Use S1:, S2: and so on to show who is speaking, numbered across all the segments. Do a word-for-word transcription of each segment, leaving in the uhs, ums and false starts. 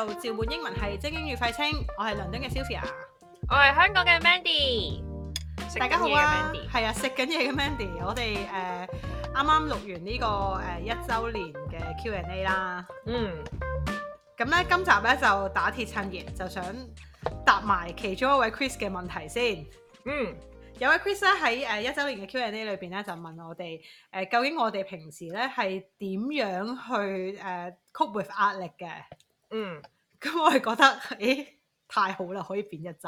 S1: 到召喚英文系精英與廢青，我係倫敦嘅 Sylvia，
S2: 我係香港嘅 Mandy，
S1: 大家好啊，
S2: 食緊嘢嘅 Mandy。
S1: 係啊，食緊嘢嘅 Mandy，我哋誒啱啱錄完呢、這個誒、呃、一週年嘅 Q and A 啦，
S2: 嗯，
S1: 咁咧今集咧就打鐵趁熱，就想答埋其中一位 Chris 嘅問題先。
S2: 嗯，
S1: 有位 Chris 咧喺誒一週年嘅 Q and A 裏邊咧就問我哋誒、呃、究竟我哋平時咧係點樣去誒、呃、cope with 壓力嘅？
S2: 嗯，
S1: 咁我係覺得，誒太好啦，可以變一集。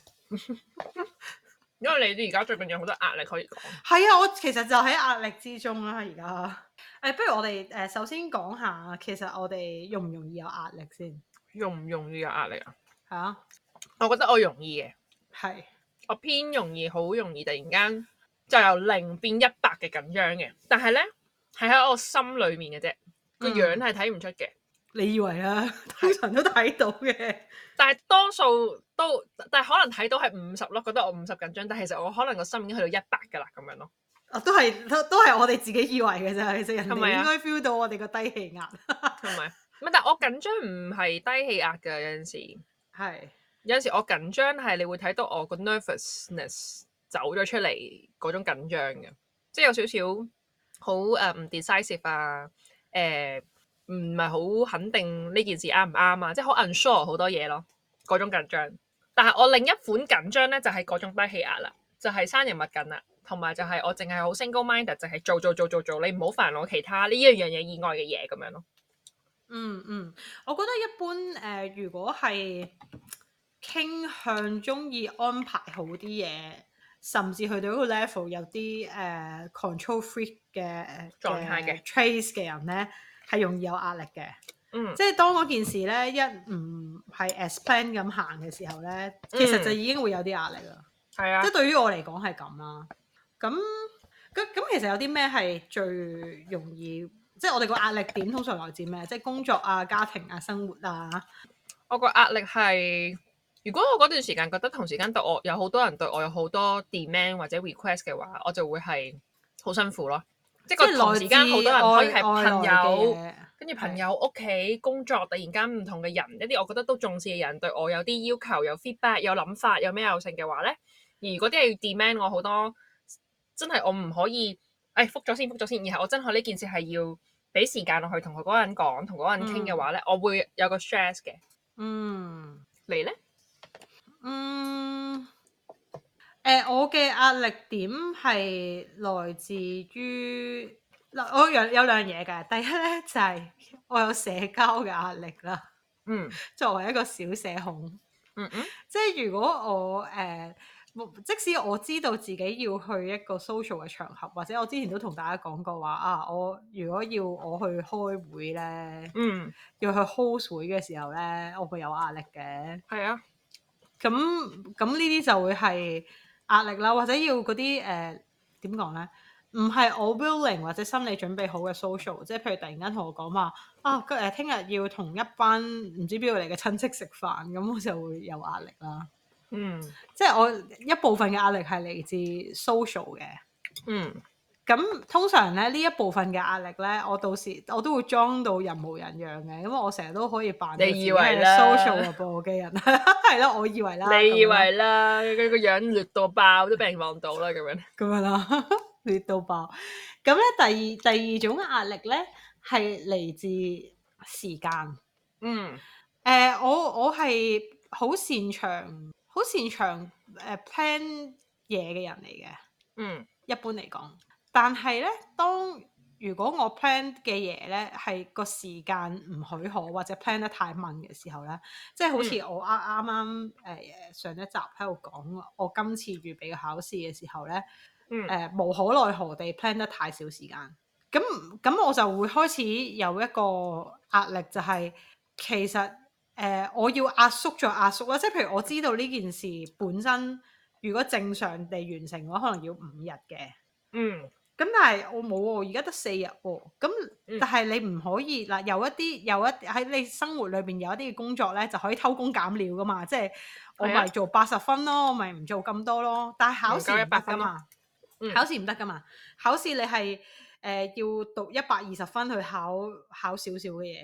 S2: 因為你哋而家最近有好多壓力可以講。
S1: 係啊，我其實就喺壓力之中啦，而家。誒，不如我哋誒、呃、首先講下，其實我哋容唔容易有壓力先？
S2: 容唔容易有壓力啊？
S1: 係啊，
S2: 我覺得我容易嘅，
S1: 係。
S2: 我偏容易，好容易突然間就由零變一百嘅緊張嘅，但係咧係喺我心裏面嘅啫，個樣係睇唔出嘅。
S1: 你以為啊？通常都睇到嘅。
S2: 但係多數都，但係可能睇到係五十咯，覺得我五十緊張，但係其實我可能個心已經去到一百噶啦，咁樣咯。
S1: 啊，都係都都係我哋自己以為嘅啫，其實人
S2: 係咪啊？
S1: 哋應該 feel 到我哋個低氣壓。
S2: 係咪？唔係，但係我緊張唔係低氣壓嘅，有陣時。
S1: 係。
S2: 有陣時我緊張係你會睇到我個 nervousness 走咗出嚟嗰種緊張嘅，即係有少少好誒唔 decisive 啊，誒唔係好肯定呢件事啱唔啱啊，即係好 unsure 好多嘢咯，嗰種緊張。但係我另一款緊張咧就係、是、嗰種低氣壓啦，就係、是、生人勿近啦，同埋就係我淨係好 single minded，就係做做做做做，你唔好煩我其他呢一樣嘢以外嘅嘢咁樣咯。
S1: 嗯嗯，我覺得一般誒、呃，如果係傾向中意安排好啲嘢，甚至去到一個 level 有啲誒、呃、control freak 嘅
S2: 狀態嘅
S1: trace 嘅人咧，係容易有壓力嘅。
S2: 嗯，
S1: 即係當嗰件事咧一唔係 as plan 咁行嘅時候咧，其實就已經會有啲壓力啦。
S2: 係啊，
S1: 即係對於我嚟講係咁啦。咁咁咁，其實有啲咩係最容易？即係我哋個壓力點通常來自咩？即係工作啊、家庭啊、生活啊。
S2: 我個壓力係，如果我嗰段時間覺得同時間對我有好多人對我有好多 demand 或者 request 嘅話，我就會係好辛苦咯。即係個同時間好多人可以係朋友，跟住朋友屋企工作，突然間唔同嘅人，一啲我覺得都重視嘅人對我有啲要求、有 feedback、有諗法、有咩有性嘅話咧，而如果啲係要 demand 我好多，真係我唔可以，誒覆咗先覆咗先，然後我真係呢件事係要俾時間落去同佢嗰個人講，同嗰個人傾嘅話咧，嗯、我會有個 stress 嘅。
S1: 嗯，
S2: 你咧？
S1: 嗯，誒、呃，我嘅壓力點係來自於嗱，我有有兩樣嘢嘅。第一咧就係、是、我有社交嘅壓力啦。
S2: 嗯，
S1: 作為一個小社恐，
S2: 嗯嗯，
S1: 即係如果我誒、呃，即使我知道自己要去一個 social 嘅場合，或者我之前都同大家講過話啊，我如果要我去開會咧，
S2: 嗯，
S1: 要去 host 會嘅時候咧，我會有壓力嘅。
S2: 係啊，
S1: 咁咁呢啲就會係壓力啦，或者要嗰啲誒點講咧？唔係我 willing 或者心理準備好嘅 social，即係譬如突然間同我講話啊，誒聽日要同一班唔知邊度嚟嘅親戚食飯，咁我就會有壓力啦。
S2: 嗯，
S1: 即係我一部分嘅壓力係嚟自 social 嘅。
S2: 嗯，
S1: 咁通常咧呢一部分嘅壓力咧，我到時我都會裝到人模人樣嘅，因為我成日都可以扮到自己係 social 嘅播機人，係咯，我以為啦，
S2: 你以為啦，佢個樣劣到爆都俾人望到啦，咁樣
S1: 咁樣啦，劣到爆。咁咧第二第二種壓力咧係嚟自時間。
S2: 嗯，
S1: 誒、呃，我我係好擅長好擅長誒、呃、plan 嘢嘅人嚟嘅。
S2: 嗯，
S1: 一般嚟講，但係咧，當如果我 plan 嘅嘢咧係個時間唔許可或者 plan 得太慢嘅時候咧，即係好似我啱啱啱誒上一集喺度講，我今次預備考試嘅時候咧，誒、
S2: 嗯
S1: 呃、無可奈何地 plan 得太少時間，咁咁我就會開始有一個壓力，就係、是、其實誒、呃、我要壓縮再壓縮啦，即係譬如我知道呢件事本身如果正常地完成嘅話，可能要五日嘅。
S2: 嗯，
S1: 咁但係我冇喎，而家得四日喎。咁但係你唔可以嗱，有一啲有一喺你生活裏邊有一啲嘅工作咧，就可以偷工減料噶嘛。即係我咪做八十分咯，我咪唔做咁多咯。但係考試唔得噶嘛，考試唔得噶嘛。考試你係誒、呃、要讀一百二十分去考考少少嘅嘢噶嘛。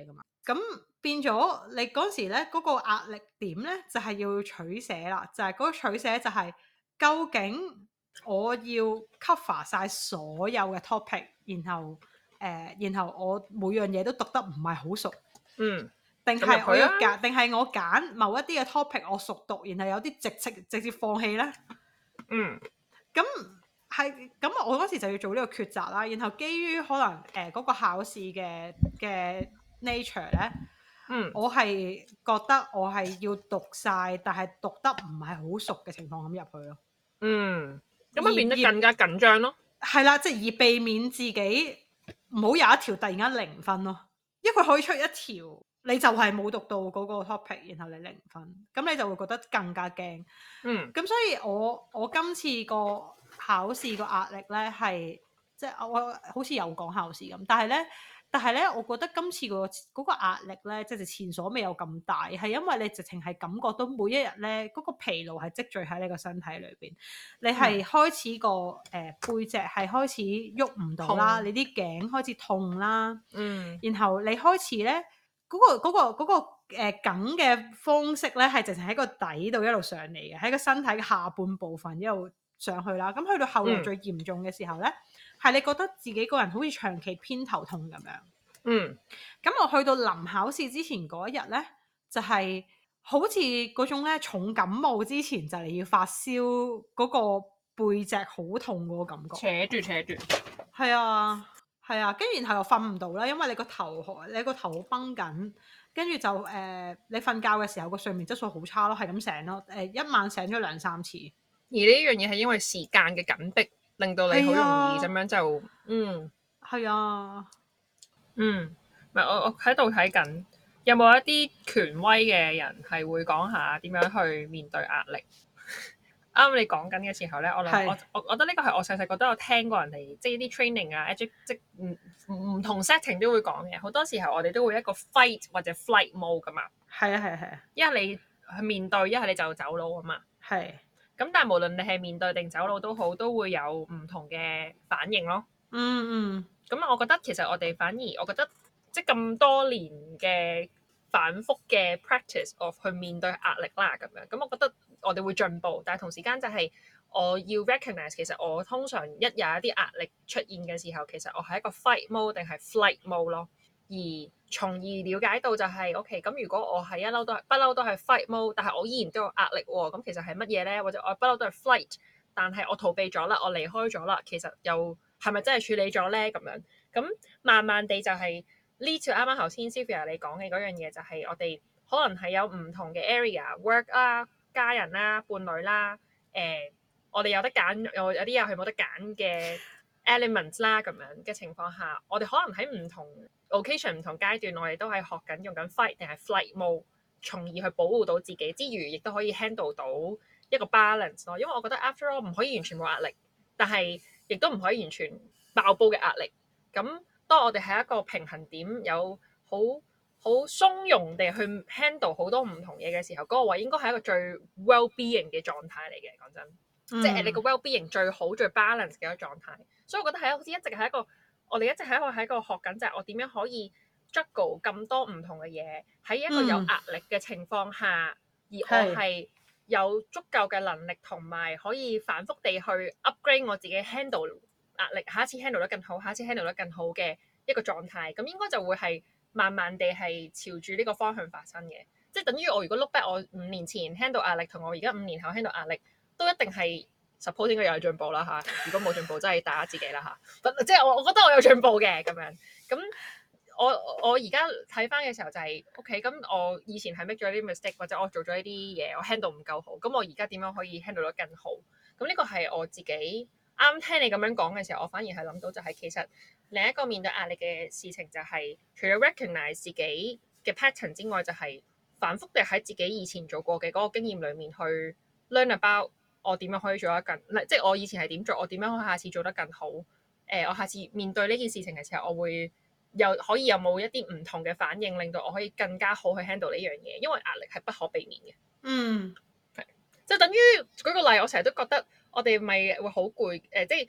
S1: 咁變咗你嗰時咧嗰、嗰個壓力點咧就係、係、要取捨啦，就係、係、嗰個取捨就係究竟我要 cover 晒所有嘅 topic，然後誒、呃，然後我每樣嘢都讀得唔係好熟，
S2: 嗯，
S1: 定係我要
S2: 咁入去啊，
S1: 揀，定係我揀某一啲嘅 topic 我熟讀，然後有啲直直直接放棄咧？
S2: 嗯，
S1: 咁係咁，我嗰時就要做呢個抉擇啦。然後基於可能誒嗰、呃嗰個考試嘅嘅 nature 咧，
S2: 嗯，
S1: 我係覺得我係要讀晒，但係讀得唔係好熟嘅情況咁入去咯。
S2: 嗯，咁
S1: 而
S2: 咪變得更加緊張咯。
S1: 係啦，即係而避免自己唔好有一條突然間零分咯，因為佢可以出一條你就係冇讀到嗰個 topic，然後你零分，咁你就會覺得更加驚。
S2: 嗯，
S1: 咁所以我我今次個考試個壓力咧係即係我好似有講考試咁，但係咧但係咧，我覺得今次個嗰個壓力咧，即係前所未有咁大，係因為你直情係感覺到每一日咧嗰個疲勞係積聚喺你個身體裏邊，你係開始個誒、呃、背脊係開始喐唔到啦，
S2: 痛
S1: 你啲頸開始痛啦，
S2: 嗯，
S1: 然後你開始咧嗰、嗰個嗰、嗰個嗰、嗰個誒緊嘅方式咧，係直情喺個底度一路上嚟嘅，喺個身體嘅下半部分一路上去啦。咁去到後來最嚴重嘅時候咧，係、嗯、你覺得自己個人好似長期偏頭痛咁樣。
S2: 嗯，
S1: 咁我去到臨考試之前嗰一日咧，就係、是、好似嗰種咧重感冒之前就嚟要發燒嗰個背脊好痛嗰個感覺。
S2: 扯住扯住。
S1: 係啊，係啊，跟住然後又瞓唔到啦，因為你個頭你個頭好繃緊，跟住就誒、呃、你瞓覺嘅時候個睡眠質素好差咯，係咁醒咯，誒、呃、一晚醒咗兩三次。
S2: 而呢樣嘢係因為時間嘅緊迫，令到你好容易咁樣就嗯
S1: 係啊。
S2: 嗯，唔係我我喺度睇緊，有冇一啲權威嘅人係會講下點樣去面對壓力？啱你講緊嘅時候咧，我諗我我我覺得呢個係我細細個都有聽過人哋即係啲 training 啊，即即唔唔同 setting 都會講嘅。好多時候我哋都會一個 fight 或者 flight mode 噶嘛。
S1: 係啊係啊係啊。
S2: 一係你去面對，一係你就走佬啊嘛。
S1: 係。
S2: 咁但係無論你係面對定走佬都好，都會有唔同嘅反應咯。
S1: 嗯嗯。
S2: 咁我覺得其實我哋反而我覺得即係咁多年嘅反覆嘅 practice of 去面對壓力啦，咁樣咁我覺得我哋會進步，但係同時間就係我要 recognize 其實我通常一有一啲壓力出現嘅時候，其實我係一個 fight mode 定係 flight mode 咯，而從而了解到就係 OK，咁如果我係一嬲都係不嬲都係 fight mode，但係我依然都有壓力喎，咁其實係乜嘢咧？或者我不嬲都係 flight，但係我逃避咗啦，我離開咗啦，其實又係咪真係處理咗咧？咁樣咁慢慢地就係呢條啱啱頭先 Sylvia 你講嘅嗰樣嘢，就係我哋可能係有唔同嘅 area，work 啦、家人啦、伴侶啦，誒、呃，我哋有得揀，有有啲又係冇得揀嘅 elements 啦，咁樣嘅情況下，我哋可能喺唔同 occasion、唔同階段，我哋都係學緊用緊 fight 定係 flight mode，從而去保護到自己之餘，亦都可以 handle 到一個 balance 咯。因為我覺得 after all 唔可以完全冇壓力，但係亦都唔可以完全爆煲嘅壓力。咁當我哋喺一個平衡點，有好好鬆容地去 handle 好多唔同嘢嘅時候，嗰、那個位應該係一個最 well-being 嘅狀態嚟嘅。講真，嗯、即係你個 well-being 最好、最 balance 嘅一個狀態。所以我覺得係好似一直係一個，我哋一直喺一個喺個學緊，就係我點樣可以 juggle 咁多唔同嘅嘢喺一個有壓力嘅情況下，嗯、而我係有足夠嘅能力同埋可以反覆地去 upgrade 我自己 handle 壓力，下一次 handle 得更好，下一次 handle 得更好嘅一個狀態，咁應該就會係慢慢地係朝住呢個方向發生嘅。即係等於我如果 look back 我五年前 handle 壓力同我而家五年後 handle 壓力，都一定係 suppose 應該有進步啦嚇。如果冇進步，真係打下自己啦嚇。即係我我覺得我有進步嘅咁樣。咁我我而家睇翻嘅時候就係 OK。咁我以前係 make 咗啲 mistake，或者我做咗一啲嘢我 handle 唔夠好。咁我而家點樣可以 handle 得更好？咁呢個係我自己。啱聽你咁樣講嘅時候，我反而係諗到就係其實另一個面對壓力嘅事情就係、是、除咗 recognize 自己嘅 pattern 之外，就係、是、反覆地喺自己以前做過嘅嗰個經驗裡面去 learn about 我點樣可以做得更，即係我以前係點做，我點樣可以下次做得更好。誒、呃，我下次面對呢件事情嘅時候，我會有可以有冇一啲唔同嘅反應，令到我可以更加好去 handle 呢樣嘢，因為壓力係不可避免嘅。
S1: 嗯，
S2: 係，即係等於舉個例，我成日都覺得。我哋咪會好攰，誒、呃，即係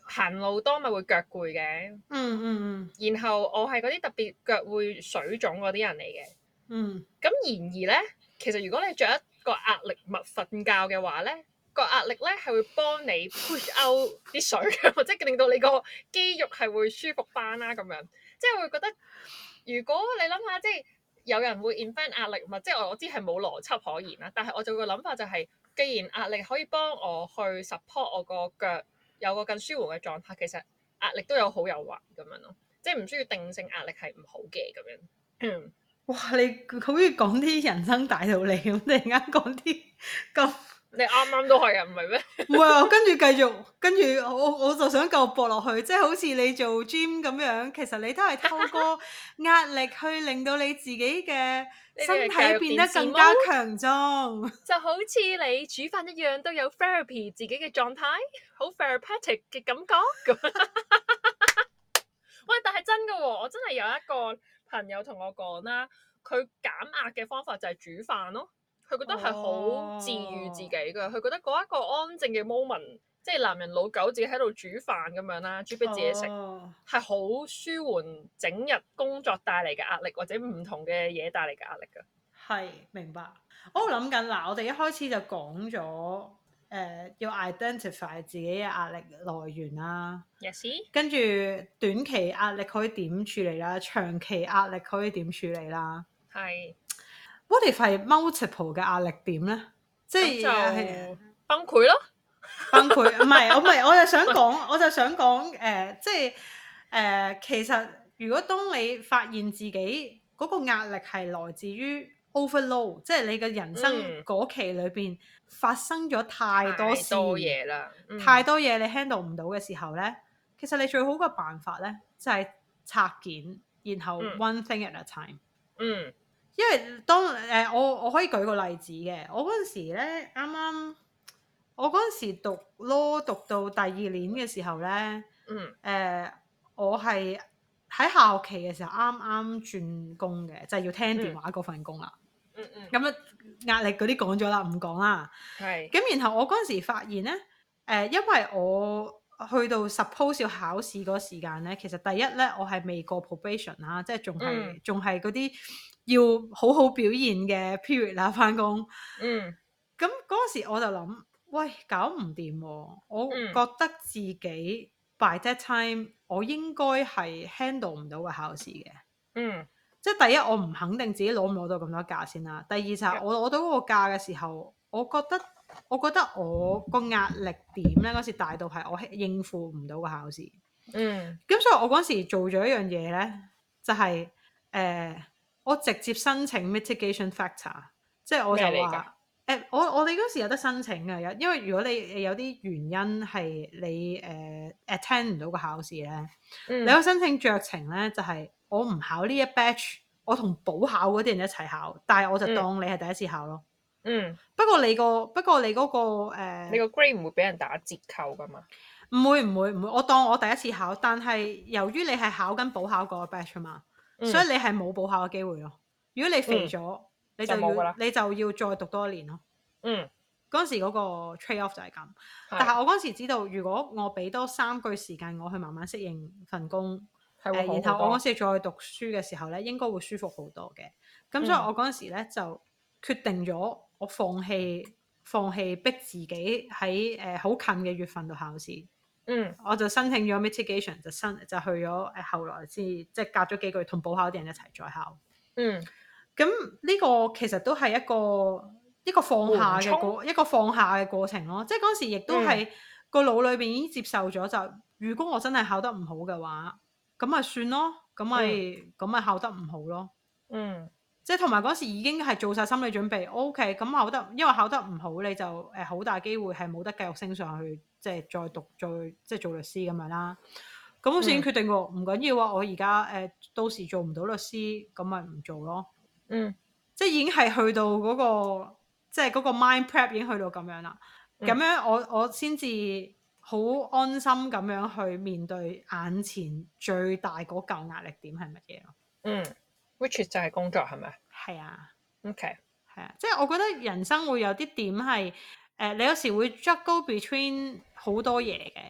S2: 行路多咪會腳攰嘅。
S1: 嗯嗯嗯。
S2: 然後我係嗰啲特別腳會水腫嗰啲人嚟嘅。
S1: 嗯。
S2: 咁然而咧，其實如果你着一個壓力襪瞓覺嘅話咧，個壓力咧係會幫你 push out 啲水嘅，即係令到你個肌肉係會舒服翻啦咁樣。即係會覺得，如果你諗下，即係有人會 invent 壓力襪，即係我知係冇邏輯可言啦。但係我就個諗法就係、是，既然壓力可以幫我去 support 我個腳有個更舒緩嘅狀態，其實壓力都有好有壞咁樣咯。即係唔需要定性壓力係唔好嘅咁樣。嗯。
S1: 哇！你好似講啲人生大道理咁，突然間講啲咁，
S2: 你啱啱都係啊，唔係咩？
S1: 唔係啊，跟住繼續，跟住我我就想繼續駁落去，即係好似你做 gym 咁樣，其實你都係透過壓力去令到你自己嘅身體變得更加強壯，
S2: 就好似你煮飯一樣，都有 therapy 自己嘅狀態，好 therapeutic 嘅感覺咁。喂，但係真㗎喎，我真係有一個朋友同我講啦，佢減壓嘅方法就係煮飯咯。佢覺得係好治愈自己㗎，佢、哦、覺得嗰一個安靜嘅 moment，即係男人老狗自己喺度煮飯咁樣啦，煮俾自己食，係好、哦、舒緩整日工作帶嚟嘅壓力，或者唔同嘅嘢帶嚟嘅壓力㗎。
S1: 係，明白。我諗緊嗱，我哋一開始就講咗誒要 identify 自己嘅壓力來源啦。
S2: Yes。
S1: 跟住短期壓力可以點處理啦，長期壓力可以點處理啦。
S2: 係。
S1: What if 係 multiple 嘅壓力點咧？即係
S2: 就崩潰咯。
S1: 崩潰唔係，我唔係，我就想講，我就想講誒、呃，即係誒、呃，其實如果當你發現自己嗰個壓力係來自於 overload，即係你嘅人生嗰期裏邊發生咗太多事，
S2: 太多嘢啦，嗯、
S1: 太多嘢你 handle 唔到嘅時候咧，其實你最好嘅辦法咧就係、是、拆件，然後 one thing at a time。
S2: 嗯。
S1: 因為當誒、呃、我我可以舉個例子嘅，我嗰陣時咧啱啱我嗰陣時讀 law 讀到第二年嘅時候咧，
S2: 嗯，誒、
S1: 呃、我係喺下學期嘅時候啱啱轉工嘅，就係、是、要聽電話嗰份工啦。
S2: 嗯嗯。
S1: 咁樣壓力嗰啲講咗啦，唔講啦。
S2: 係。
S1: 咁然後我嗰陣時發現咧，誒、呃、因為我去到 suppose 要考試嗰時間咧，其實第一咧我係未過 probation 啦，即係仲係仲係嗰啲要好好表現嘅 period 啦，返工。
S2: 嗯。
S1: 咁嗰時我就諗，喂，搞唔掂喎！我覺得自己 by that time 我應該係 handle 唔到個考試嘅。
S2: 嗯。
S1: 即係第一，我唔肯定自己攞唔攞到咁多假先啦。第二就係我攞到嗰個假嘅時候，我覺得我覺得我個壓力點咧嗰時大到係我應付唔到個考試。
S2: 嗯。
S1: 咁所以我嗰時做咗一樣嘢咧，就係、是、誒、呃、我直接申請 mitigation factor，即係我就話誒、呃、我我哋嗰時有得申請嘅，有因為如果你有啲原因係你誒、呃、attend 唔到個考試咧，嗯、你可以申請酌情咧，就係、是。我唔考呢一 batch，我同補考嗰啲人一齊考，但係我就當你係第一次考咯。嗯。不過你個不過你嗰、嗰個、呃、
S2: 你個 grade 唔會俾人打折扣噶嘛？
S1: 唔會唔會唔會，我當我第一次考，但係由於你係考緊補考嗰個 batch 啊嘛，嗯、所以你係冇補考嘅機會咯。如果你肥咗，嗯、你就要就你就要再讀多一年咯。嗯。嗰陣時嗰個 trade off 就係咁，是但係我嗰陣時知道，如果我俾多三個月時間我去慢慢適應份工。誒、呃，然後我嗰時再讀書嘅時候咧，應該會舒服好多嘅。咁、嗯、所以我嗰陣時咧就決定咗，我放棄放棄逼自己喺誒好近嘅月份度考試。嗯，我就申請咗 mitigation， 就申就去咗誒、呃，後來先即係隔咗幾個月同補考啲人一齊再考。嗯，咁呢個其實都係一個一個放下嘅過一個放下嘅過程咯。即係嗰時亦都係、嗯、個腦裏邊已經接受咗，就如果我真係考得唔好嘅話。咁咪算咯，咁咪咁咪考得唔好咯。嗯，即係同埋嗰時已經係做晒心理準備。O K，咁考得，因為考得唔好，你就誒好、呃、大機會係冇得繼續升上去，即係再讀再即係做律師咁樣啦。咁我先決定喎，唔緊要啊，我而家誒到時做唔到律師，咁咪唔做咯。嗯，即係已經係去到嗰、嗰個，即係嗰個 mind prep 已經去到咁樣啦。咁樣我我先至。好安心咁樣去面對眼前最大嗰嚿壓力點係乜嘢咯？嗯
S2: which 就係工作係咪？
S1: 係啊。
S2: OK。
S1: 係啊，即係我覺得人生會有啲點係誒、呃，你有時會 juggle between 好多嘢嘅。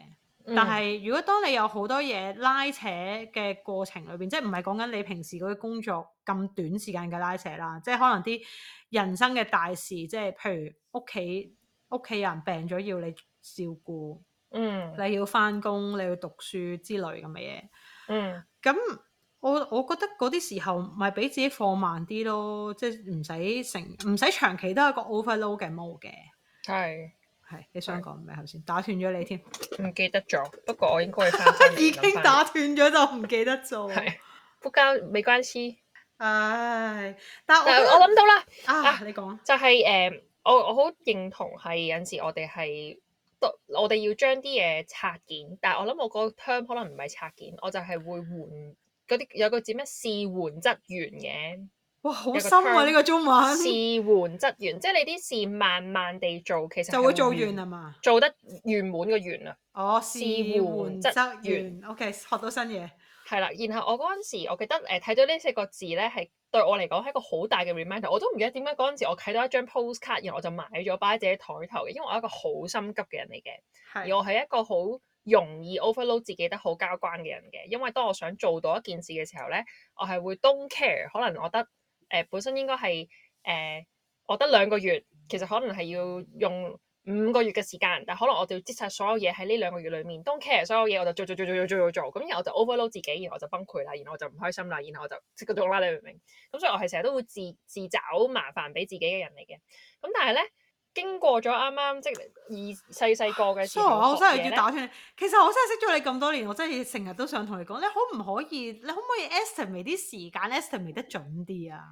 S1: 但係如果當你有好多嘢拉扯嘅過程裏邊，即係唔係講緊你平時嗰啲工作咁短時間嘅拉扯啦，即係可能啲人生嘅大事，即係譬如屋企屋企人病咗要你照顧，
S2: 嗯，
S1: 你要返工，你要讀書之類咁嘅嘢。
S2: 嗯，
S1: 咁我我覺得嗰啲時候咪俾自己放慢啲咯，即係唔使成唔使長期都係一個 overload 嘅 mode 嘅。
S2: 係
S1: 係你想講咩頭先？打斷咗你添，
S2: 唔記得咗。不過我應該會翻返嚟
S1: 已經打斷咗就唔記得做。
S2: 係不交沒關係。
S1: 唉，但係
S2: 但係
S1: 我
S2: 我諗到啦
S1: 啊，
S2: 啊
S1: 你講
S2: 就係、誒、我我好認同係有陣時我哋係我哋要將啲嘢拆件，但係我諗我個 term 可能唔係拆件，我就係會換嗰啲有個字咩事緩則圓嘅。
S1: 哇，好
S2: 有個
S1: 深啊！
S2: term
S1: 呢個中文
S2: 事緩則圓，即係你啲事慢慢地做，其實
S1: 就會做
S2: 係
S1: 完啊嘛。
S2: 做得圓滿個圓啊。
S1: 哦，
S2: 事
S1: 事
S2: 緩則
S1: 緩則
S2: 圓
S1: 圓，OK，學到新嘢。
S2: 係啦。然後我嗰陣時，我記得誒睇到呢四個字咧，係對我嚟講係一個好大嘅 reminder。我都唔記得點解嗰陣時我睇到一張 postcard，然後我就買咗擺喺自己台頭嘅，因為我係一個好心急嘅人嚟嘅，
S1: 係
S2: 而我係一個好容易 overload 自己得好交關嘅人嘅。因為當我想做到一件事嘅時候咧，我係會 don't care，可能我得誒、呃、本身應該係誒、呃、我得兩個月，其實可能係要用五個月嘅時間，但可能我就要擠晒所有嘢喺呢兩個月裡面，don't care 所有嘢，我就做做做做做做做，咁然後我就 overload 自己，然後我就崩潰啦，然後我就唔開心啦，然後我就即嗰種啦，你明唔明？咁所以我係成日都會自自找麻煩俾自己嘅人嚟嘅。咁但係咧，經過咗啱啱即係二細細個嘅時候，
S1: 我真係
S2: 學嘢
S1: 要打斷你。其實我真係識咗你咁多年，我真係成日都想同你講，你可唔可以，你可唔可以 estimate 啲時間 estimate 得準啲啊？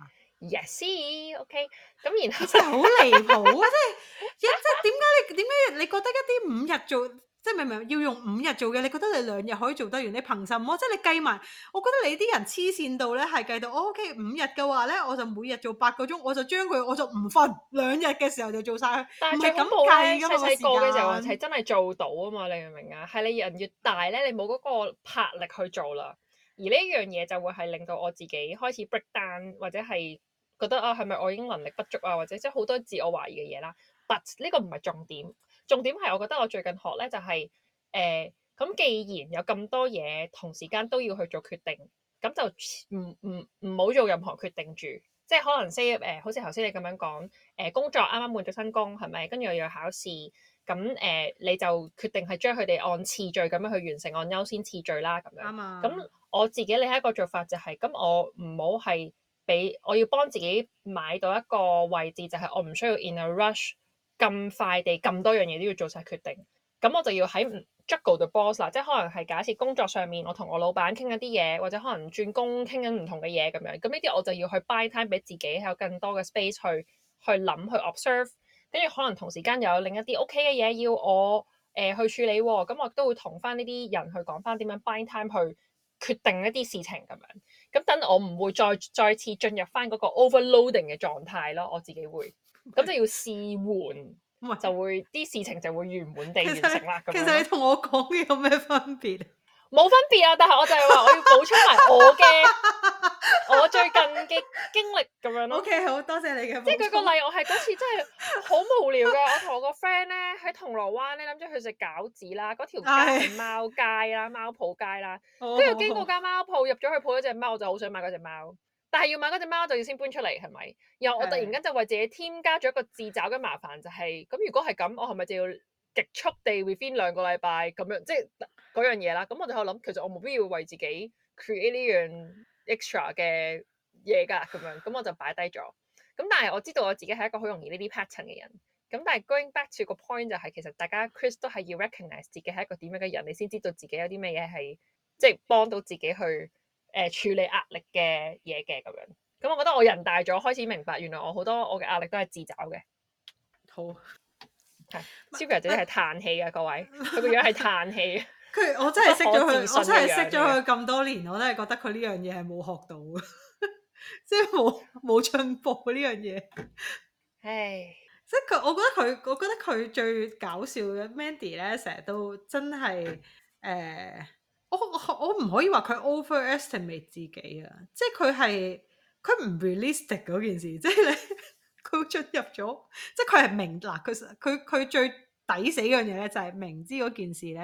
S2: Yes，OK，咁然後
S1: 真係好離譜啊！即係即係點解你點解你覺得一啲五日做，即係明明要用五日做嘅，你覺得你兩日可以做得完？你憑什麼？即係你計埋，我覺得你啲人黐線到咧，係計到我 OK 五日嘅話咧，我就每日做八個鐘，我就將佢我就唔瞓，兩日嘅時候就做晒佢。
S2: 但係
S1: 唔係咁
S2: 最恐怖咧，
S1: 計㗎嘛，
S2: 細細個嘅時候
S1: 個時間
S2: 係真係做到啊嘛，你明唔明啊？係你人越大咧，你冇嗰個魄力去做啦。而呢一樣嘢就會係令到我自己開始 break down，或者係覺得啊，係咪我已經能力不足啊，或者即係好多自我懷疑嘅嘢啦。But 呢個唔係重點，重點係我覺得我最近學咧就係誒咁，既然有咁多嘢同時間都要去做決定，咁就唔唔唔好做任何決定住。即係可能 say 誒、呃，好似頭先你咁樣講，誒、呃、工作啱啱換咗新工係咪？跟住又要考試，咁誒、呃、你就決定係將佢哋按次序咁樣去完成，按優先次序啦咁樣。
S1: 啱啊。
S2: 咁我自己另一個做法就係、是，咁我唔好係俾我要幫自己買到一個位置，就係、是、我唔需要 in a rush 咁快地咁多樣嘢都要做晒決定。咁我就要喺 juggle the balls 啦，即係可能係假設工作上面我同我老闆傾緊啲嘢，或者可能轉工傾緊唔同嘅嘢咁樣，咁呢啲我就要去 buy time 俾自己，有更多嘅 space 去去諗去 observe，跟住可能同時間又有另一啲 OK 嘅嘢要我誒、呃、去處理喎，咁我都會同翻呢啲人去講翻點樣 buy time 去決定一啲事情咁樣，咁等我唔會再再次進入翻嗰個 overloading 嘅狀態咯，我自己會，咁就要試緩。就會啲事情就會圓滿地完成啦。
S1: 其實你同我講嘅有咩分別？
S2: 冇分別啊！但係我就係話我要補充埋我嘅我最近嘅經歷咁樣咯。
S1: OK， 好多謝你嘅。
S2: 即係舉個例，我係嗰次真係好無聊嘅。我同我個 friend 咧喺銅鑼灣咧諗住去食餃子啦，嗰條街係貓街啦、貓鋪街啦，跟住經過間貓鋪入咗去抱咗隻貓，我就好想買嗰隻貓。但係要買嗰隻貓就要先搬出嚟，係咪？然後我突然間就為自己添加咗一個自找嘅麻煩，就係、是、咁。如果係咁，我係咪就要極速地 within 兩個禮拜咁樣，即係嗰樣嘢啦？咁我就喺度諗，其實我冇必要為自己 create 呢樣 extra 嘅嘢㗎，咁樣咁我就擺低咗。咁但係我知道我自己係一個好容易呢啲 pattern 嘅人。咁但係 going back to 個 point 就係、是、其實大家 Chris 都係要 recognize 自己係一個點樣嘅人，你先知道自己有啲咩嘢係即係幫到自己去。誒、呃、處理壓力嘅嘢嘅咁樣，咁我覺得我人大咗開始明白，原來我好多我嘅壓力都係自找嘅。
S1: 好，
S2: 係 Sylvia 姐姐係嘆氣嘅，各位，佢個樣係嘆氣。
S1: 佢我真係識咗佢，我真係識咗佢咁多年，我都係覺得佢呢樣嘢係冇學到嘅，即係冇冇進步呢樣嘢。唉，即係佢，我覺得佢，我覺得佢最搞笑嘅 Mandy 咧，成日都真係誒。呃我我唔可以話佢 overestimate 自己啊，即係佢係佢唔 realistic 嗰件事，即係你佢進入咗，即係佢係明嗱，佢佢佢最抵死嗰樣嘢咧，就係明知嗰件事咧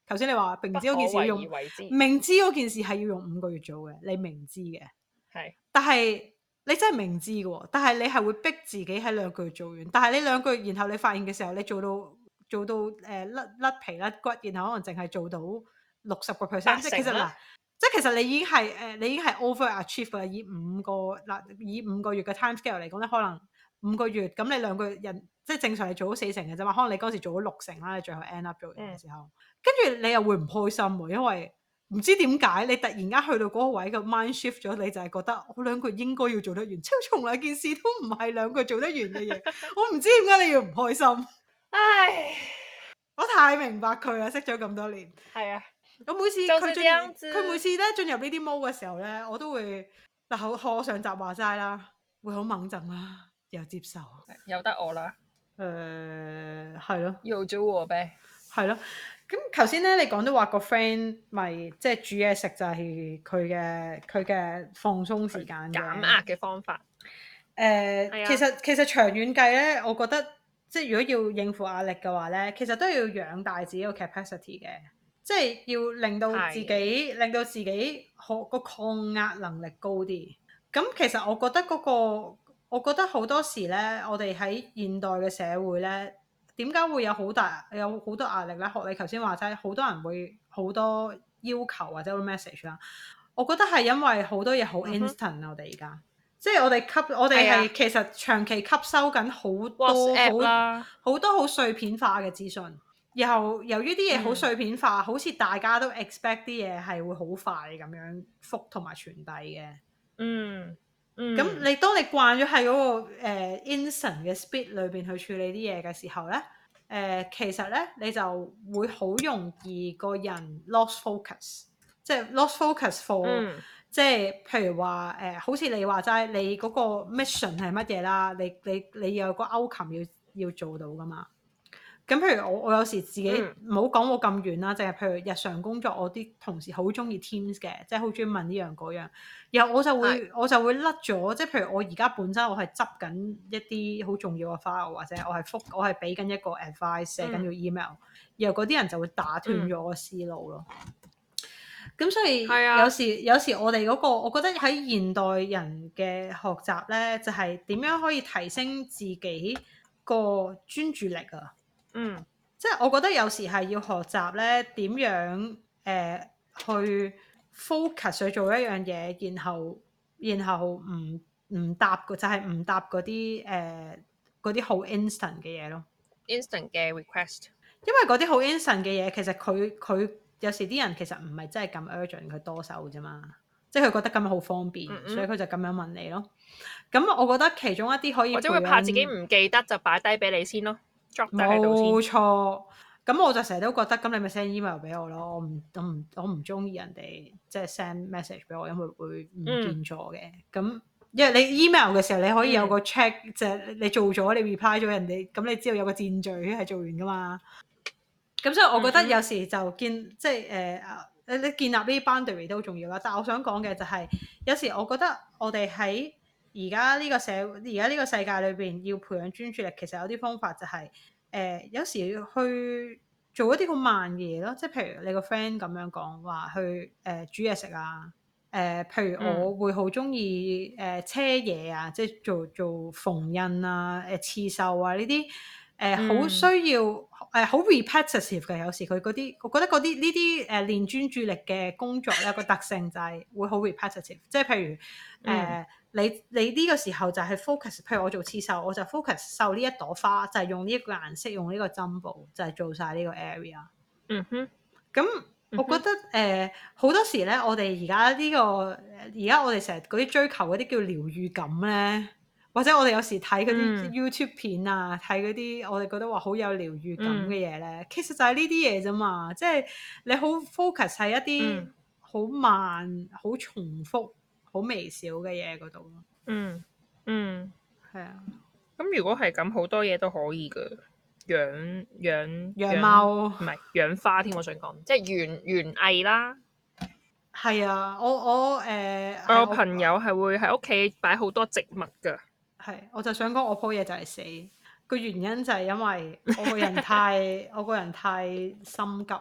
S1: 頭先你話明
S2: 不
S1: 知嗰件事要用
S2: 可為而為之，
S1: 明知嗰件事係要用五個月做嘅，你明知嘅，
S2: 係，
S1: 但係你真係明知嘅喎，但係你係會逼自己喺兩個月做完，但係你兩個月然後你發現嘅時候，你做到做到誒甩甩皮甩骨，然後可能淨係做到六十個 percent，即係其實嗱，即係其實你已經係誒、呃、你已經係 over achieve 㗎啦，以五個嗱以五個月嘅 time scale 嚟講咧，可能五個月咁你兩個月人即係正常係做咗四成嘅啫嘛，可能你嗰時做咗六成啦，你最後 end up 做完嘅時候，跟住、嗯、你又會唔開心喎，因為唔知點解你突然間去到嗰個位個 mind shift 咗，你就係覺得我兩個月應該要做得完，超從來件事都唔係兩個月做得完嘅嘢，我唔知點解你要唔開心。唉，我太明白佢啦，識咗咁多年。係啊，我每次佢進佢每次咧進入呢啲 mode 嘅時候咧，我都會嗱好學上集話齋啦，會好猛震啦，又接受，
S2: 由得我啦。
S1: 誒係咯，
S2: 要做我唄。係
S1: 咯。咁頭先咧，你講到話個 friend 咪即係煮嘢食就係佢嘅佢嘅放鬆時間
S2: 減壓嘅方法。
S1: 誒、呃啊，其實其實長遠計咧，我覺得即係如果要應付壓力嘅話咧，其實都要養大自己個 capacity 嘅，即係要令到自己令到自己可個抗壓能力高啲。咁其實我覺得嗰、嗰個，我覺得好多時咧，我哋喺現代嘅社會咧。點解會有好大有好多壓力咧？學你頭先話齋，好多人會好多要求或者 message 啦。我覺得係因為好多嘢好 instant、嗯、我哋而家即係我哋吸我哋係其實長期吸收緊好多好好多好碎片化嘅資訊，然後由於啲嘢好碎片化，嗯、好似大家都 expect 啲嘢係會好快咁樣覆同埋傳遞嘅。嗯。咁、嗯、你當你慣咗喺嗰個、呃、instant 嘅 speed 裏邊去處理啲嘢嘅時候咧，誒、呃、其實咧你就會好容易個人 lost focus，即係 lost focus for，、嗯、即係譬如話誒、呃，好似你話齋，你嗰個 mission 係乜嘢啦？你你你有個 outcome 要要做到噶嘛？咁譬如我我有時自己唔好講我咁遠啦，淨係譬如日常工作，我啲同事好中意 Teams 嘅，即係好中意問呢樣嗰樣，然後我就會是我就會甩咗，即係譬如我而家本身我係執緊一啲好重要嘅 file，或者我係覆我係俾緊一個 advice 寫緊個 email，、嗯、然後嗰啲人就會打斷咗我思路咯。咁、嗯、所以有時、啊、有時我哋嗰、嗰個，我覺得喺現代人嘅學習咧，就係、是、點樣可以提升自己個專注力啊。嗯，即係我覺得有時係要學習咧點樣誒、呃、去 focus 去做一樣嘢，然後然後唔唔答就係、是、唔答嗰啲誒嗰啲好 instant 嘅嘢咯。
S2: instant 嘅 request，
S1: 因為嗰啲好 instant 嘅嘢，其實佢佢有時啲人其實唔係真係咁 urgent，佢多手啫嘛。即係佢覺得咁樣好方便，嗯嗯所以佢就咁樣問你咯。咁我覺得其中一啲可以，
S2: 或者會怕自己唔記得就擺低俾你先咯。
S1: 冇錯，咁我就成日都覺得，咁你咪 send email 俾我咯。我唔，我唔，我唔中意人哋即係 send message 俾我，因為會唔見咗嘅。咁、嗯、因為你 email 嘅時候，你可以有個 check，、嗯、就係你做咗，你 reply 咗人哋，咁你知道有個箭嘴係做完噶嘛。咁所以我覺得有時就建，嗯嗯即係誒誒，你建立呢啲 boundary 都好重要啦。但係我想講嘅就係、是，有時我覺得我哋喺而家呢個社，而家呢個世界裏邊要培養專注力，其實有啲方法就係、是、誒、呃，有時去做一啲好慢嘅嘢咯。即係譬如你個 friend 咁樣講話去誒、呃、煮嘢食啊，誒、呃，譬如我會好中意誒車嘢啊，即係做做縫紉啊、誒、呃、刺繡啊呢啲誒，好、呃、需要誒好 repetitive 嘅。有時佢嗰啲，我覺得嗰啲呢啲誒練專注力嘅工作咧，個特性就係會好 repetitive。即係譬如誒。呃嗯你你呢個時候就係 focus，譬如我做刺繡，我就 focus 繡呢一朵花，就係、是、用呢一個顏色，用呢個針布，就係、是、做晒呢個 area。嗯哼，咁我覺得誒好、呃、多時咧，我哋而家呢個而家我哋成日嗰啲追求嗰啲叫療愈感咧，或者我哋有時睇嗰啲 YouTube 片啊，睇嗰啲我哋覺得話好有療愈感嘅嘢咧，嗯、其實就係呢啲嘢啫嘛，即、就、係、是、你好 focus 喺一啲好慢、好、嗯、重複。好微小嘅嘢嗰度咯，嗯嗯，係啊。
S2: 咁如果係咁，好多嘢都可以㗎，養養
S1: 養貓，
S2: 唔係養花添。我想講，即係園園藝啦。
S1: 係啊，我我誒，呃、
S2: 我有朋友係會喺屋企擺好多植物㗎。
S1: 係，我就想講我樖嘢就係死，個原因就係因為我個人太我個人太心急咯。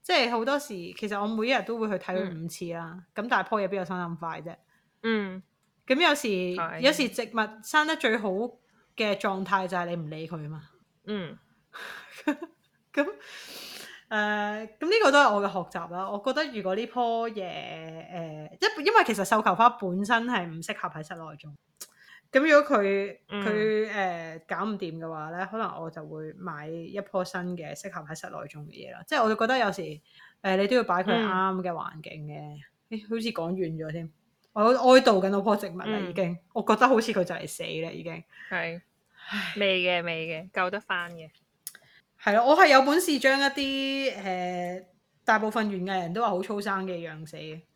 S1: 即係好多時其實我每一日都會去睇佢五次啦。咁、嗯、但係樖嘢邊有生得咁快啫？
S2: 嗯。
S1: 咁有時
S2: 係
S1: 有時植物生得最好嘅狀態就係你唔理佢啊嘛。
S2: 嗯。
S1: 咁誒，咁呢個都係我嘅學習啦。我覺得如果呢樖嘢誒，因因為其實繡球花本身係唔適合喺室內種。咁如果佢佢誒搞唔掂嘅話咧，可能我就會買一樖新嘅適合喺室內種嘅嘢啦。即係我就覺得有時誒、呃、你都要擺佢啱嘅環境嘅。誒、嗯，好似講遠咗添。我哀悼緊我棵植物啦，已經、嗯。我覺得好似佢就嚟死啦，已經。
S2: 係。未嘅，未嘅，救得翻嘅。
S1: 係咯，我係有本事將一啲誒、呃、大部分園藝人都話好粗生嘅養死嘅。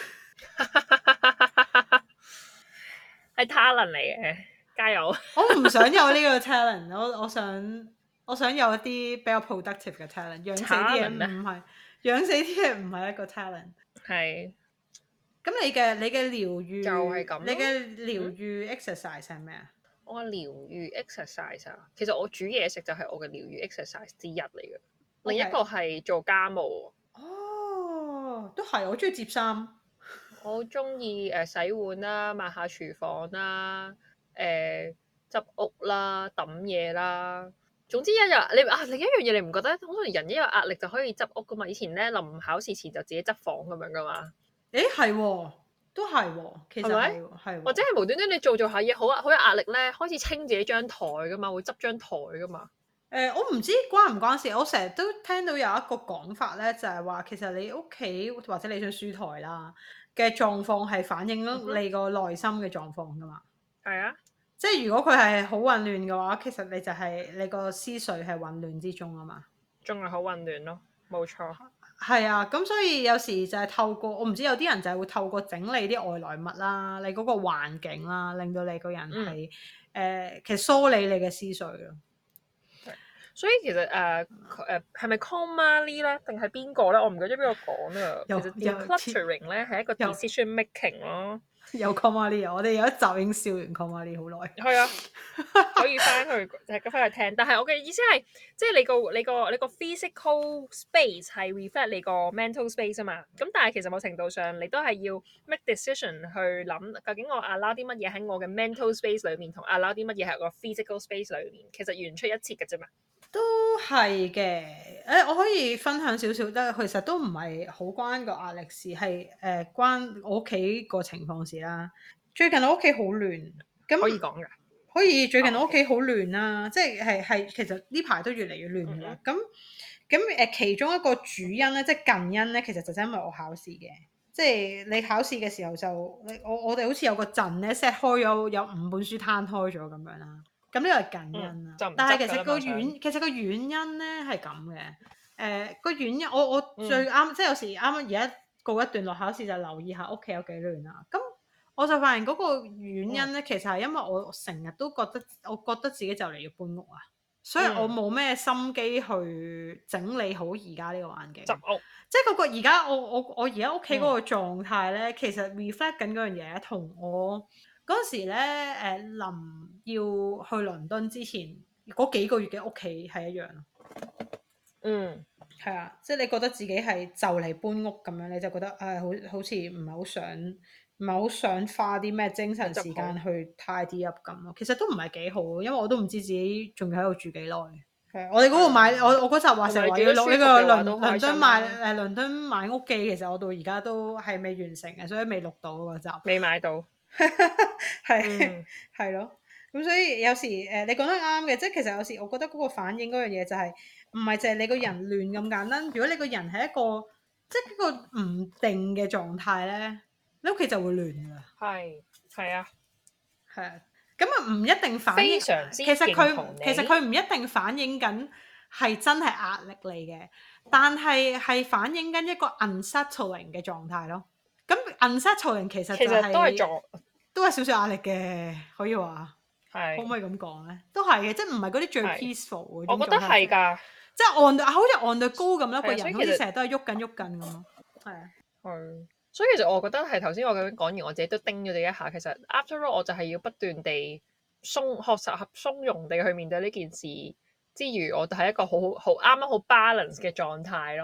S2: 係 talent 嚟嘅，加油！
S1: 我唔想有呢個 talent，我我想我想有一啲比較 productive 嘅 talent，養死啲嘢唔係養死啲嘢唔係一個 talent。係。咁你嘅你嘅療愈就係咁，你嘅療愈 exercise 係咩啊？
S2: 我嘅療愈 exercise 啊，其實我煮嘢食就係我嘅療愈 exercise 之一嚟嘅。Okay. 另一個係做家務。
S1: 哦，都係，我中意摺衫。
S2: 我好中意誒洗碗啦，抹下廚房啦，誒、呃、執屋啦，揼嘢啦。總之一日你啊，另一樣嘢你唔覺得好多人一有壓力就可以執屋噶嘛？以前咧臨考試前就自己執房咁樣噶嘛？
S1: 誒係喎，都係喎，其實係喎，係
S2: 或者係無端端你做做下嘢好好有壓力咧，開始清自己張台噶嘛，會執張台噶嘛。
S1: 誒、呃，我唔知關唔關事，我成日都聽到有一個講法咧，就係、是、話其實你屋企或者你張書台啦嘅狀況係反映咗你個內心嘅狀況噶嘛。係啊、嗯，即係如果佢係好混亂嘅話，其實你就係、是、你個思緒係混亂之中啊嘛。
S2: 仲係好混亂咯，冇錯。
S1: 係啊，咁所以有時就係透過我唔知有啲人就係會透過整理啲外來物啦，你嗰個環境啦，令到你個人係誒、嗯呃、其實梳理你嘅思緒咯。
S2: 所以其實誒誒係咪 Konmari 咧，定係邊個咧？我唔記得邊個講啊。其實 decluttering 咧係一個 decision making 咯。
S1: 有 Konmari 啊！我哋有一集已經笑完 Konmari 好耐。
S2: 係啊，可以翻去就係翻去聽。但係我嘅意思係，即係你個你個你個 physical space 係 reflect 你個 mental space 啊嘛。咁但係其實某程度上，你都係要 make decision 去諗，究竟我 allow 啲乜嘢喺我嘅 mental space 裏面，同 allow 啲乜嘢喺個 physical space 裏面，其實完出一轍嘅啫嘛。
S1: 都係嘅，誒，我可以分享少少，但係其實都唔係好關個壓力事，係誒、呃、關我屋企個情況事啦。最近我屋企好亂，咁
S2: 可以講㗎，
S1: 可以最近我屋企好亂啦，即係係係其實呢排都越嚟越亂㗎啦。咁咁誒其中一個主因咧，即係近因咧，其實就係因為我考試嘅，即係你考試嘅時候就你我我哋好似有個陣咧 set 開咗有五本書攤開咗咁樣啦。咁呢個係近因啦，嗯、但係其實個原其實個原因咧係咁嘅，誒、呃、個原因我我最啱、嗯、即係有時啱啱而家告一段落考試就留意下屋企有幾亂啦。咁我就發現嗰個原因咧，嗯、其實係因為我成日都覺得我覺得自己就嚟要搬屋啊，所以我冇咩心機去整理好而家呢個環境。執屋，即係嗰個而家我我我而家屋企嗰個狀態咧，嗯、其實 reflect 緊嗰樣嘢同我。嗰時咧，誒、呃、臨要去倫敦之前嗰幾個月嘅屋企係一樣咯。嗯，係啊，即係你覺得自己係就嚟搬屋咁樣，你就覺得誒、哎、好好似唔係好想，唔係好想花啲咩精神時間去 tidy up 咁咯。其實都唔係幾好，因為我都唔知自己仲要喺度住幾耐。係啊，我哋嗰個買，嗯、我我嗰集話成日話要錄呢個倫倫敦買誒倫敦買屋記，其實我到而家都係未完成嘅，所以未錄到嗰集。未買到。係係咯，咁所以有時誒、呃，你講得啱嘅，即係其實有時我覺得嗰個反應嗰樣嘢就係唔係淨係你個人亂咁簡單。如果你個人係一個即係一個唔定嘅狀態咧，你屋企就會亂噶啦。係係啊，係啊，咁啊唔一定反映，非常之其實佢其實佢唔一定反映緊係真係壓力嚟嘅，但係係反映緊一個 unsettling 嘅狀態咯。咁 unsettling 其實就係、其實都係做都係少少壓力嘅，可以話係，可唔可以咁講咧？都係嘅，即係唔係嗰啲最 peaceful 嗰種。我覺得係㗎，即係 on 好似 on the go咁啦，個人好似成日都係喐緊喐緊咁咯。係啊，係。
S2: 所以其實我覺得係頭先我咁樣講完，我自己都叮咗你一下。其實 after all 我就係要不斷地鬆學習合鬆容地去面對呢件事之餘，我就係一個好好啱啱好 balance 嘅狀態咯。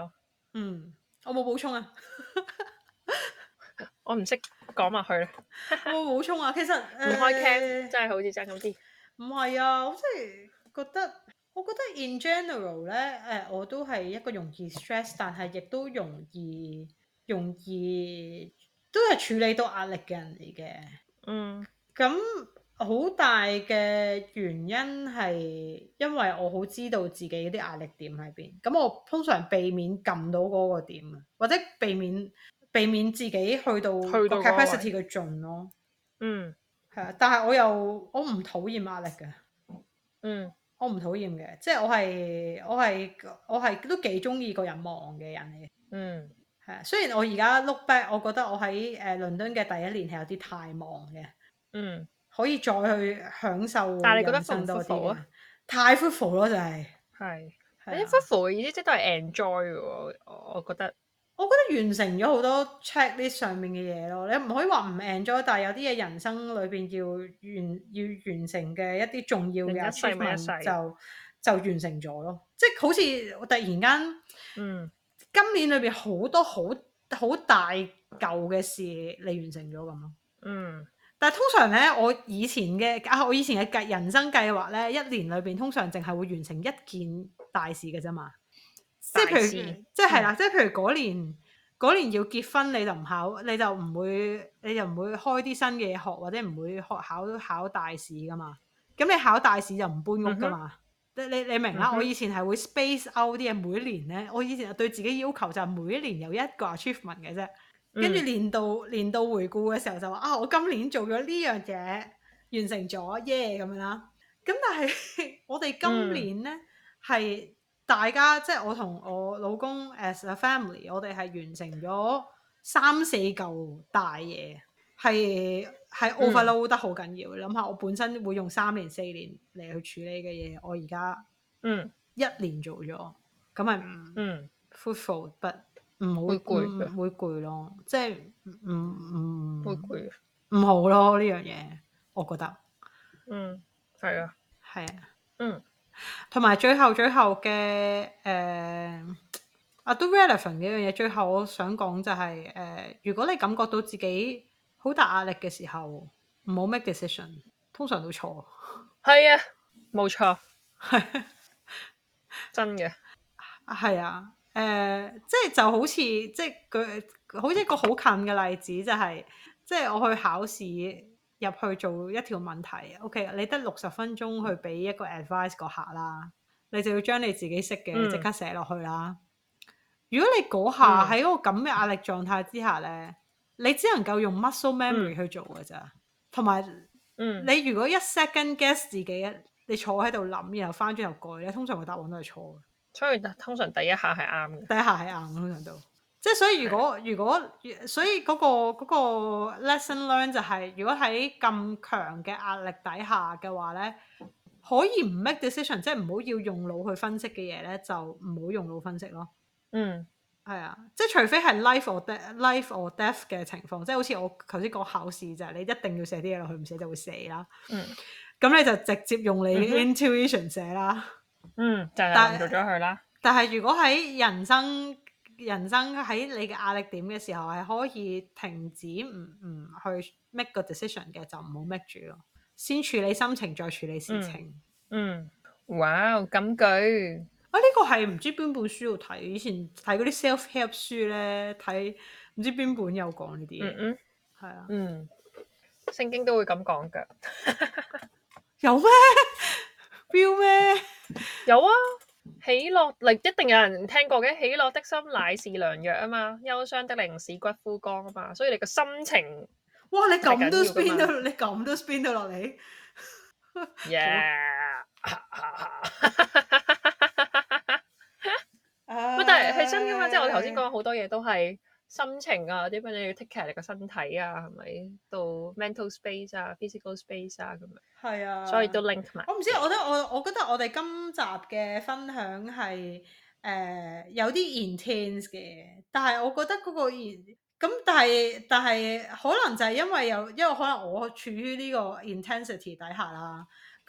S1: 嗯，我冇補充啊。
S2: 我唔識講埋去啦，
S1: 我冇補充啊。其實誒，
S2: 唔開 cam 真係好似爭咁啲。
S1: 唔係啊，我真係覺得，我覺得 in general 咧，誒、呃，我都係一個容易 stress，但係亦都容易容易都係處理到壓力嘅人嚟嘅。
S2: 嗯
S1: 咁好大嘅原因係因為我好知道自己啲壓力點喺邊，咁我通常避免撳到嗰個點啊，或者避免避免自己去到個
S2: 去到嗰個
S1: capacity
S2: 位，
S1: 嘅盡咯。
S2: 嗯
S1: 係啊，但係我又我唔討厭壓力嘅，
S2: 嗯
S1: 我唔討厭嘅，即係我係我係我係都幾中意個人忙嘅人嚟嘅。
S2: 嗯
S1: 係啊，雖然我而家 look back，我覺得我喺誒、呃、倫敦嘅第一年係有啲太忙嘅。
S2: 嗯，
S1: 可以再去享受
S2: 但係你覺得
S1: 人生
S2: fruitful
S1: 多啲嘅，
S2: 啊？
S1: 太 fruitful 咯，就係
S2: 係，你
S1: 係啊。
S2: fruitful 嘅意思即係都係 enjoy 嘅喎，我我覺得。
S1: 我覺得完成咗好多 checklist 上面嘅嘢咯，你唔可以話唔 enjoy，但係有啲嘢人生裏邊要完要完成嘅一啲重要嘅
S2: 人一世咪一
S1: achievement
S2: 世。
S1: 就就完成咗咯，即係好似我突然間
S2: 嗯
S1: 今年裏邊好多好好大嚿嘅事你完成咗咁咯。
S2: 嗯
S1: 但係通常咧，我以前嘅啊，我以前嘅計人生計劃咧，一年裏邊通常淨係會完成一件大事嘅啫嘛。即係譬如，
S2: 大事
S1: 即係係啦，即係譬如嗰年嗰年要結婚，你就唔考，你就唔會，你就唔會開啲新嘅嘢學，或者唔會學考考大試噶嘛。咁你考大試就唔搬屋噶嘛。你你你明啦？
S2: 嗯哼
S1: 我以前係會 space out 啲嘢，每一年咧，我以前對自己要求就係每一年有一個 achievement 嘅啫。跟住
S2: 嗯
S1: 年度年度回顧嘅時候就話啊，我今年做咗呢樣嘢，完成咗耶咁樣啦。咁但係我哋今年呢，係、大家即係我同我老公 as a family，我哋係完成咗三四嚿大嘢，係係 overload 得好緊要。你諗下，我本身會用三年四年嚟去處理嘅嘢，我而家
S2: 嗯
S1: 一年做咗，咁係唔
S2: 嗯
S1: fruitful but 唔好
S2: 會攰
S1: 唔
S2: 嘅，
S1: 會攰咯，即係唔唔
S2: 會攰嘅。
S1: 唔好咯呢樣嘢，我覺得
S2: 嗯，係啊。
S1: 係啊。
S2: 嗯
S1: 同埋最後最後嘅誒啊都 relevant 嘅一樣嘢，最後我想講就係、誒、呃如果你感覺到自己好大壓力嘅時候，唔好 make decision，通常都錯。
S2: 係啊，冇錯，真嘅。
S1: 係啊，誒、即係就好似即係佢好似一個好近嘅例子，就係、即係我去考試入去做一條問題，OK，你得六十分鐘去俾一個 advice 個客啦，你就要將你自己識嘅即
S2: 嗯
S1: 刻寫落去啦。如果你嗰下喺嗰個咁嘅壓力狀態之下咧，你只能夠用 muscle memory
S2: 嗯
S1: 去做㗎咋，同埋
S2: 嗯，
S1: 你如果一 second guess 自己，你坐喺度諗，然後翻轉頭改咧，通常個答案都係錯嘅。
S2: 所以通常第一下係啱嘅。
S1: 第一下係啱，通常都即係所以如果如果所以嗰、個嗰、個 lesson learn 就係、如果喺咁強嘅壓力底下嘅話咧，可以唔 make decision，即係唔好要用腦去分析嘅嘢咧，就唔好用腦分析咯。
S2: 嗯
S1: 係啊，即係除非係 life or death、life or death 嘅情況，即係好似我頭先講考試就係你一定要寫啲嘢落去，唔寫就會死啦。
S2: 嗯
S1: 咁你就直接用你
S2: 嗯哼
S1: intuition 寫啦。
S2: 嗯，就係
S1: 但
S2: 咁做咗佢啦。
S1: 但係如果喺人生人生喺你嘅壓力點嘅時候，係可以停止唔唔去 make 個 decision 嘅，就唔好 make 住咯。先處理心情，再處理事情。
S2: 嗯，哇，金句。
S1: 啊！呢、個係唔知邊本書度睇，以前睇嗰啲 self help 書咧，睇唔知邊本有講呢啲嘢。
S2: 嗯嗯
S1: 係啊，
S2: 嗯，聖經都會咁講㗎。
S1: 有咩標咩？
S2: 有啊，喜樂，嚟一定有人聽過嘅。喜樂的心乃是良藥啊嘛，憂傷的靈使骨枯乾啊嘛，所以你個心情
S1: 哇！你咁都
S2: 係緊要㗎
S1: spin
S2: 嘛
S1: 到，你咁都 spin 到落嚟。
S2: ，yeah。
S1: 唉
S2: 喂，但係係真噶嘛？即係我頭先講好多嘢都係心情啊，點樣你要 take care 你個身體啊，係咪？到 mental space 啊，physical space 啊咁樣，
S1: 係啊，
S2: 所以都 link 埋。
S1: 我唔知，我覺得我我覺得我哋今集嘅分享係誒、呃有啲 intense 嘅，但係我覺得嗰個 in 咁，但係但係可能就係因為有，因為可能我處於呢個 intensity 底下啦，咁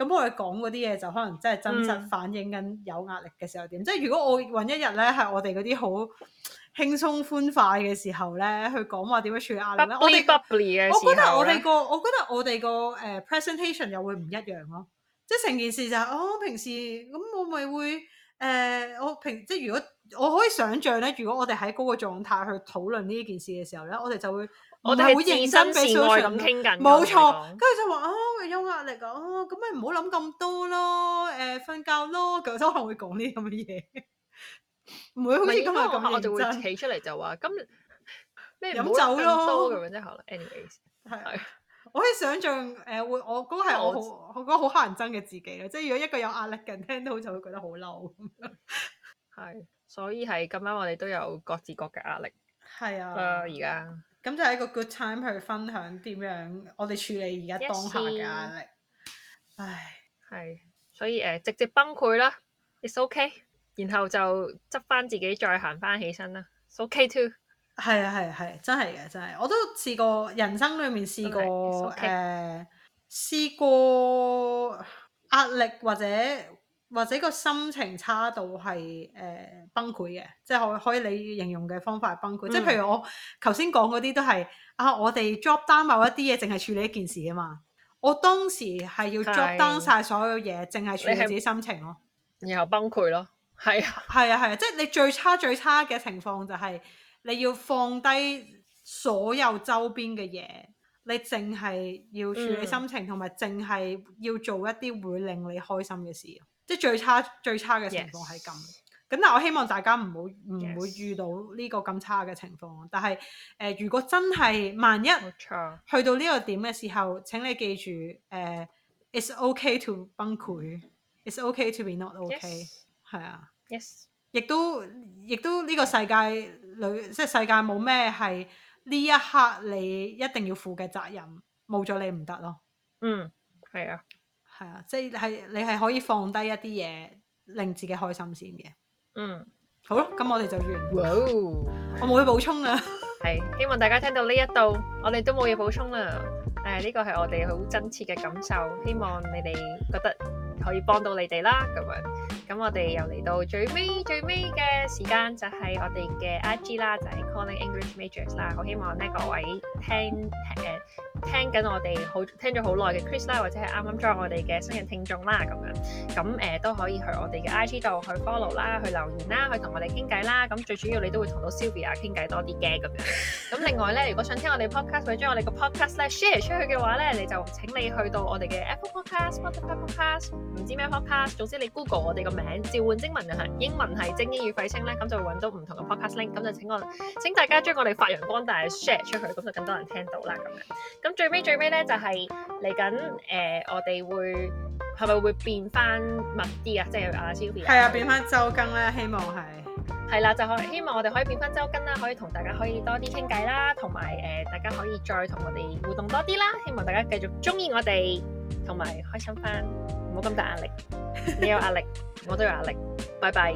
S1: 咁我哋講嗰啲嘢就可能真係真實反映緊有壓力嘅時候點。嗯、即係如果我揾一日咧係我哋嗰啲好輕鬆歡快嘅時候咧，去講話點樣處理壓力咧，我哋我覺得我哋個我覺得我哋個誒 presentation 又會唔一樣咯。即係成件事就係、是、哦，平時咁我咪會誒、呃，我平即係如果我可以想像咧，如果我哋喺嗰個狀態去討論呢件事嘅時候咧，我哋就會
S2: 我哋會認真事愛咁傾緊，
S1: 冇錯。跟住就話啊，有壓力啊，咁咪唔好諗咁多咯，誒、呃、瞓覺咯，咁都可能會講呢啲咁嘅嘢。唔會好似今日咁，
S2: 我就會企出嚟就話今日咩
S1: 飲酒咯
S2: 咁樣啫。可能 anyways 係。
S1: 我可以想像誒、呃、會，我嗰個係我好，我覺得好乞人憎嘅自己咧。即係如果一個有壓力嘅人聽到就會覺得好嬲。
S2: 係，所以係咁啱，我哋都有各自各嘅壓力。
S1: 係啊，
S2: 而家
S1: 咁就係一個 good time 去分享點樣我哋處理而家當下嘅壓力。Yes. 唉，
S2: 係，所以誒、呃、直接崩潰啦 ，it's okay。然後就執翻自己再行翻起身啦 ，it's okay too。
S1: 係啊係啊係，真係嘅真係，我都試過人生裏面試過誒、okay. 呃，試過壓力或者或者個心情差到係誒、呃、崩潰嘅，即係可可以你形容嘅方法係崩潰。嗯、即係譬如我頭先講嗰啲都係啊，我哋 drop down 某一啲嘢，淨係處理一件事啊嘛。我當時係要 drop down 晒所有嘢，淨係處理自己心情咯，
S2: 然後崩潰咯。係啊
S1: 係啊係啊，即係你最差最差嘅情況就係你要放低所有周邊嘅嘢，你淨係要處理心情，同埋淨係要做一啲會令你開心嘅事。即係最差最差嘅情況係咁。咁 Yes. 但係我希望大家唔好唔會遇到呢個咁差嘅情況。但係誒、呃，如果真係萬一去到呢個點嘅時候，請你記住誒、呃、，it's okay to 崩潰 ，it's okay to be not okay。係啊。
S2: Yes，
S1: 亦都亦都呢個世界裏，即係世界冇咩係呢一刻你一定要負嘅責任，冇咗你唔得咯。
S2: 嗯，係啊，
S1: 係啊，即係你係可以放低一啲嘢，令自己開心先嘅。
S2: 嗯，
S1: 好咯，咁我哋就完。
S2: 哇，
S1: 我冇嘢補充啦。
S2: 係，希望大家聽到呢一度，我哋都冇嘢補充啦。誒、呃，呢個係我哋好真切嘅感受，希望你哋覺得可以幫到你哋啦，咁樣。咁我哋又嚟到最尾最尾嘅時間，就係、是、我哋嘅 I G 啦，就係、是、Calling English Majors 啦。好希望呢各位聽誒、呃、聽緊我哋好聽咗好耐嘅 Chris 啦，或者係啱啱 join 我哋嘅新人聽眾啦，咁樣咁誒、呃、都可以去我哋嘅 I G 度去 follow 啦，去留言啦，去同我哋傾偈啦。咁最主要你都會同到 Sylvia 傾偈多啲嘅咁樣。咁另外咧，如果想聽我哋 podcast 或者將我哋個 podcast 咧 share 出去嘅話咧，你就請你去到我哋嘅 Apple Podcast、Spotify Podcast， 唔知咩 podcast， 總之你 Google 我哋個名召喚精文係英文係精英與廢青咧，咁就會揾到唔同嘅 podcast link， 咁就請我請大家將我哋發揚光大 share 出去，咁就更多人聽到啦咁樣。咁最尾最尾咧就係嚟緊誒，我哋會係咪會變翻密啲啊？即係阿 Sylvia
S1: 係啊，變翻周更咧，希望係
S2: 係啦，就可希望我哋可以變翻周更啦，可以同大家可以多啲傾偈啦，同埋誒大家可以再同我哋互動多啲啦。希望大家繼續中意我哋，同埋開心翻，唔好咁大壓力。你有壓力，我都有壓力。拜拜，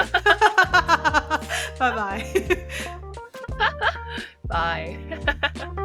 S1: 拜拜，
S2: 拜。